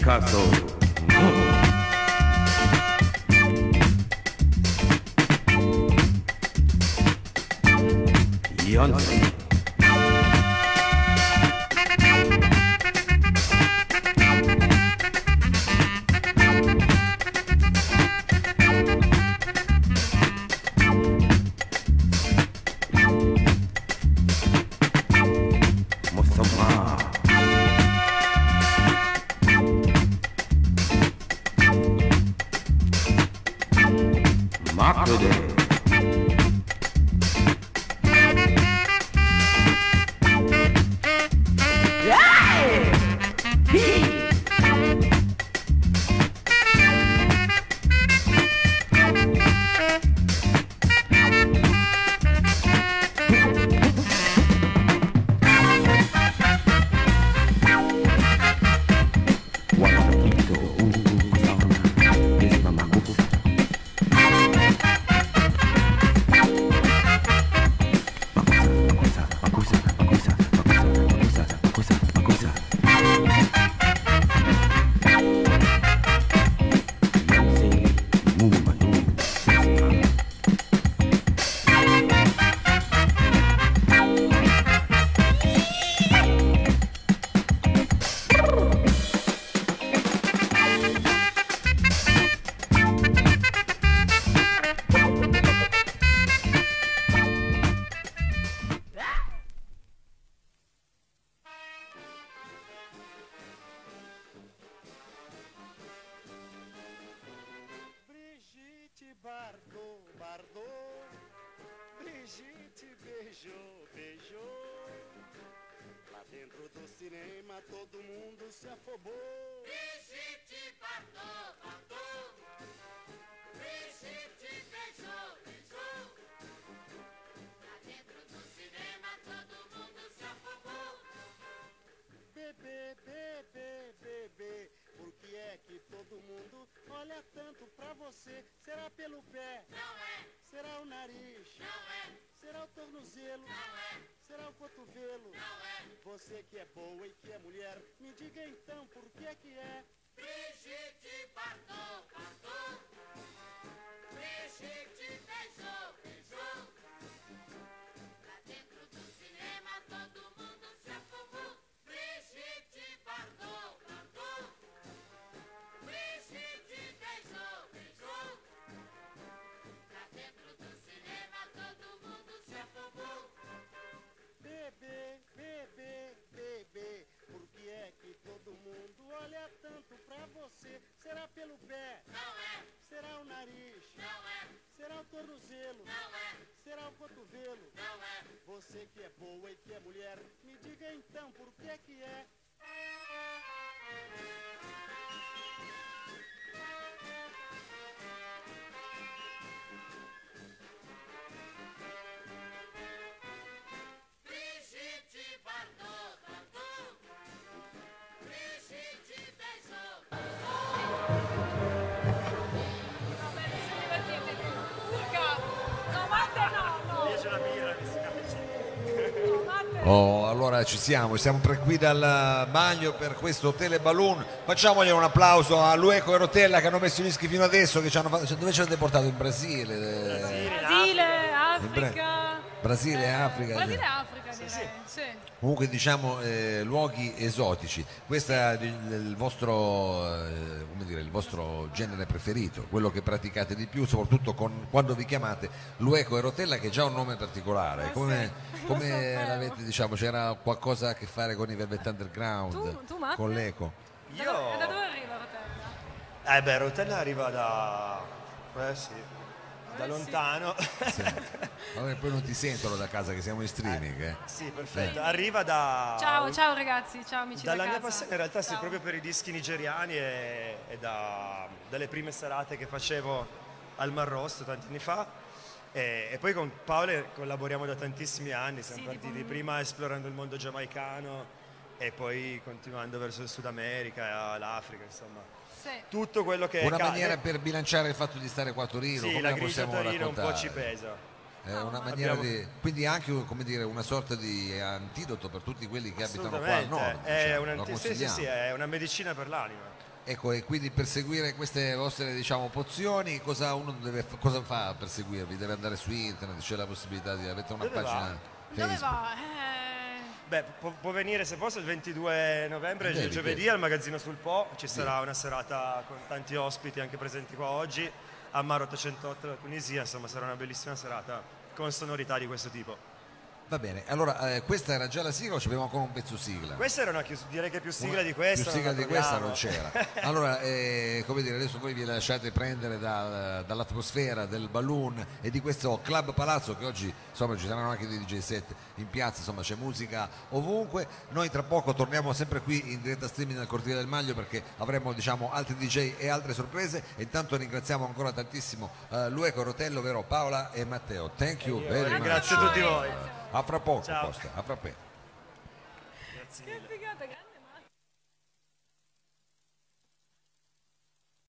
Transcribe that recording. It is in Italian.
caso no. Beyoncé. Mustafa. Makude. Brigitte beijou, beijou. Lá dentro do cinema todo mundo se afobou. Brigitte Bardot, Bardot. Brigitte beijou, beijou. Lá dentro do cinema todo mundo se afobou. Bebê, bebê, bebê, por que é que todo mundo olha tanto pra você? Será pelo pé? Não é. Será o nariz? Não é. Será o tornozelo? Não é. Será o cotovelo? Não é. Você que é boa e que é mulher, me diga então por que é? Brigitte Bardot, Bardot. Brigitte beijou, beijou. Lá dentro do cinema todo mundo se afogou. Brigitte Bardot, Bardot. Brigitte beijou, beijou. Lá dentro do cinema todo mundo se afogou. Bebê, bebê, bebê, por que é que todo mundo olha tanto pra você? Será pelo pé? Não é. Será o nariz? Não é. Será o tornozelo? Não é. Será o cotovelo? Não é. Você que é boa e que é mulher, me diga então por que é? Brigitte Bardot, Bardot. Brigitte beijou. Oh, allora ci siamo, siamo qui dal bagno per questo teleballoon. Facciamogli un applauso a Lueco e Rotella che hanno messo i dischi fino adesso. Che ci hanno fatto... Dove ci avete portato? In Brasile? Brasile, Africa. Brasile e Africa. Brasile e Africa, direi. Sì. Comunque diciamo luoghi esotici. Questo è il vostro, come dire, il vostro genere preferito, quello che praticate di più, soprattutto quando vi chiamate Lueco e Rotella, che è già un nome particolare. Come l'avete, diciamo, c'era qualcosa a che fare con i Velvet Underground, Tu Matte? con l'Eco? Da dove arriva Rotella? Beh, Rotella arriva da... sì, da lontano. Sì. Allora, poi non ti sentono da casa che siamo in streaming. Sì, perfetto. Arriva da... Ciao ragazzi, ciao amici Dalla da mia casa. passione in realtà sì, Ciao. proprio per i dischi nigeriani e dalle prime serate che facevo al Mar Rosso tanti anni fa. E poi con Paolo collaboriamo da tantissimi anni, siamo partiti prima esplorando il mondo giamaicano e poi continuando verso il Sud America, l'Africa, insomma. Sì. Tutto quello che Una maniera per bilanciare il fatto di stare qua a Torino, sì, come la la grigia a possiamo Torino raccontare? un po' ci pesa. È una maniera di, quindi anche, come dire, una sorta di antidoto per tutti quelli che abitano qua al nord. È diciamo, lo sì, consigliamo. sì, è una medicina per l'anima. Ecco, e quindi per seguire queste vostre, diciamo, pozioni, cosa cosa fa per seguirvi? Deve andare su internet, c'è la possibilità di avere una Dove va? pagina Dove Facebook? va? Beh, può venire se posso il 22 novembre, Devi, giovedì, devi. al Magazzino sul Po. Ci sarà una serata con tanti ospiti anche presenti qua oggi. A Mar 808 la Tunisia, insomma sarà una bellissima serata con sonorità di questo tipo. Va bene, allora questa era già la sigla o ci abbiamo ancora un pezzo sigla? Questa era direi che più sigla di questa. Più sigla non la di questa troviamo. non c'era. Allora, come dire, adesso voi vi lasciate prendere dall'atmosfera del balloon e di questo Club Palazzo che oggi, insomma, ci saranno anche dei DJ set in piazza, insomma, c'è musica ovunque. Noi tra poco torniamo sempre qui in diretta streaming nel Cortile del Maglio perché avremo, diciamo, altri DJ e altre sorprese. E intanto ringraziamo ancora tantissimo Lueco, Rotello, vero, Paola e Matteo. Thank you very much. Grazie a tutti voi. A fra poco, Ciao. Costa, a fra poco. Grazie Che mille. figata, grande.